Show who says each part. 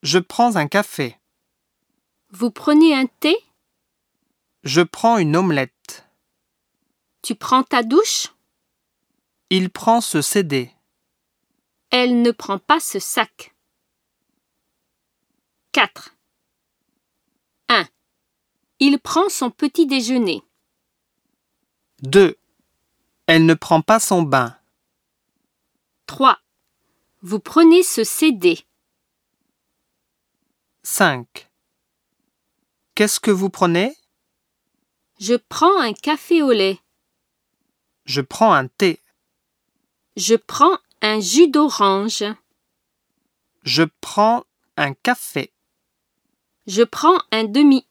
Speaker 1: Je prends un café.
Speaker 2: Vous prenez un thé?
Speaker 1: Je prends une omelette.
Speaker 2: Tu prends ta douche?
Speaker 1: Il prend ce CD.
Speaker 2: Elle ne prend pas ce sac. 4. 1. Il prend son petit déjeuner.
Speaker 1: 2. Elle ne prend pas son bain.
Speaker 2: 3. Vous prenez ce CD.
Speaker 1: 5. Qu'est-ce que vous prenez?
Speaker 2: Je prends un café au lait.
Speaker 1: Je prends un thé.
Speaker 2: Je prends un jus d'orange.
Speaker 1: Je prends un café.
Speaker 2: Je prends un demi.